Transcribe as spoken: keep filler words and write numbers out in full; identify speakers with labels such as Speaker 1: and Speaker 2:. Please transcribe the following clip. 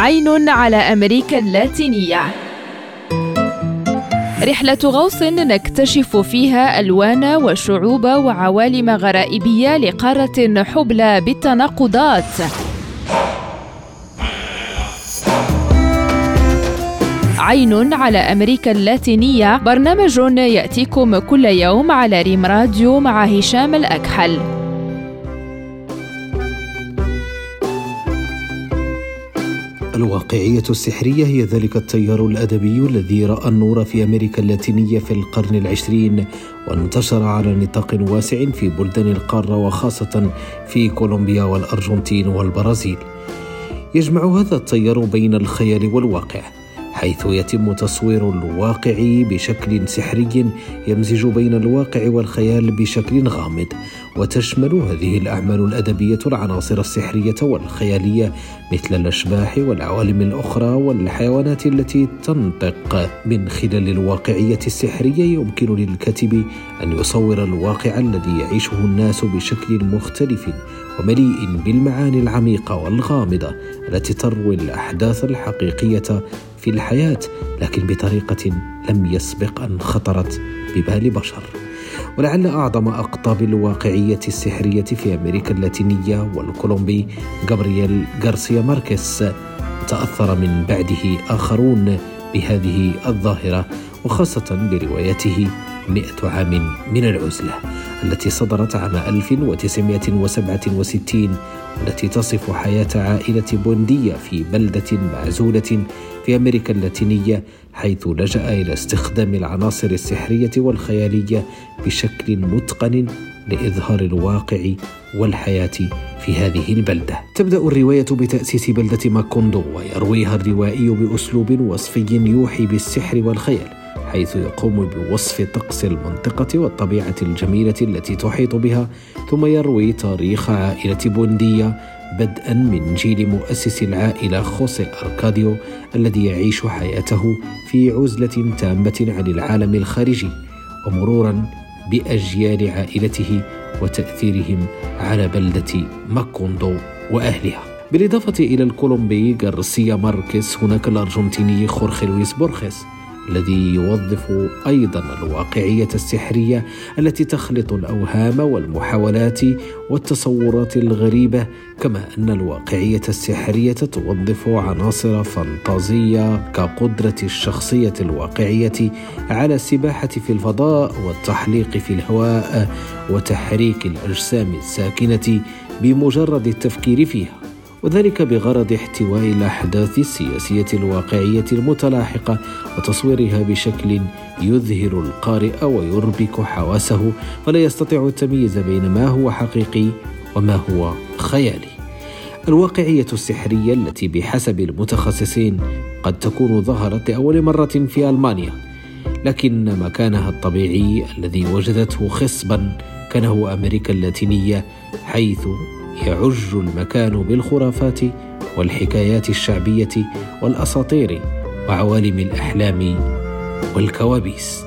Speaker 1: عين على أمريكا اللاتينية، رحلة غوص نكتشف فيها ألوان وشعوب وعوالم غرائبية لقارة حبلى بالتناقضات. عين على أمريكا اللاتينية، برنامج يأتيكم كل يوم على ريم راديو مع هشام الأكحل.
Speaker 2: الواقعية السحرية هي ذلك التيار الأدبي الذي رأى النور في أمريكا اللاتينية في القرن العشرين، وانتشر على نطاق واسع في بلدان القارة وخاصة في كولومبيا والأرجنتين والبرازيل. يجمع هذا التيار بين الخيال والواقع، حيث يتم تصوير الواقع بشكل سحري يمزج بين الواقع والخيال بشكل غامض، وتشمل هذه الأعمال الأدبية العناصر السحرية والخيالية مثل الأشباح والعوالم الأخرى والحيوانات التي تنطق. من خلال الواقعية السحرية يمكن للكاتب أن يصور الواقع الذي يعيشه الناس بشكل مختلف ومليء بالمعاني العميقة والغامضة التي تروي الأحداث الحقيقية في الحياة، لكن بطريقة لم يسبق أن خطرت ببال بشر. ولعل أعظم أقطاب الواقعية السحرية في أمريكا اللاتينية والكولومبي غابرييل غارسيا ماركيز، تأثر من بعده آخرون بهذه الظاهرة، وخاصة بروايته مئة عام من العزلة التي صدرت عام ألف وتسعمائة وسبعة وستين، والتي تصف حياة عائلة بوندية في بلدة معزولة في أمريكا اللاتينية، حيث لجأ إلى استخدام العناصر السحرية والخيالية بشكل متقن لإظهار الواقع والحياة في هذه البلدة. تبدأ الرواية بتأسيس بلدة ماكوندو، ويرويها الروائي بأسلوب وصفي يوحي بالسحر والخيال، حيث يقوم بوصف طقس المنطقة والطبيعة الجميلة التي تحيط بها، ثم يروي تاريخ عائلة بوندية بدءا من جيل مؤسس العائلة خوسيه أركاديو الذي يعيش حياته في عزلة تامة عن العالم الخارجي، ومرورا بأجيال عائلته وتأثيرهم على بلدة ماكوندو وأهلها. بالإضافة إلى الكولومبي غارسيا ماركيز، هناك الأرجنتيني خورخي لويس بورخيس الذي يوظف أيضا الواقعية السحرية التي تخلط الأوهام والمحاولات والتصورات الغريبة، كما أن الواقعية السحرية توظف عناصر فانتازية كقدرة الشخصية الواقعية على السباحة في الفضاء والتحليق في الهواء وتحريك الأجسام الساكنة بمجرد التفكير فيها، وذلك بغرض احتواء الأحداث السياسية الواقعية المتلاحقة وتصويرها بشكل يذهل القارئ ويربك حواسه، فلا يستطيع التمييز بين ما هو حقيقي وما هو خيالي. الواقعية السحرية التي بحسب المتخصصين قد تكون ظهرت لأول مرة في ألمانيا، لكن مكانها الطبيعي الذي وجدته خصبا كان هو أمريكا اللاتينية، حيث يعج المكان بالخرافات والحكايات الشعبية والأساطير وعوالم الأحلام والكوابيس.